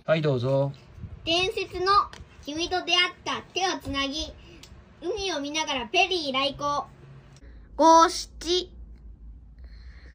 はい、どうぞ。 伝説の君と出会った手をつなぎ、海を見ながらペリー来航。五七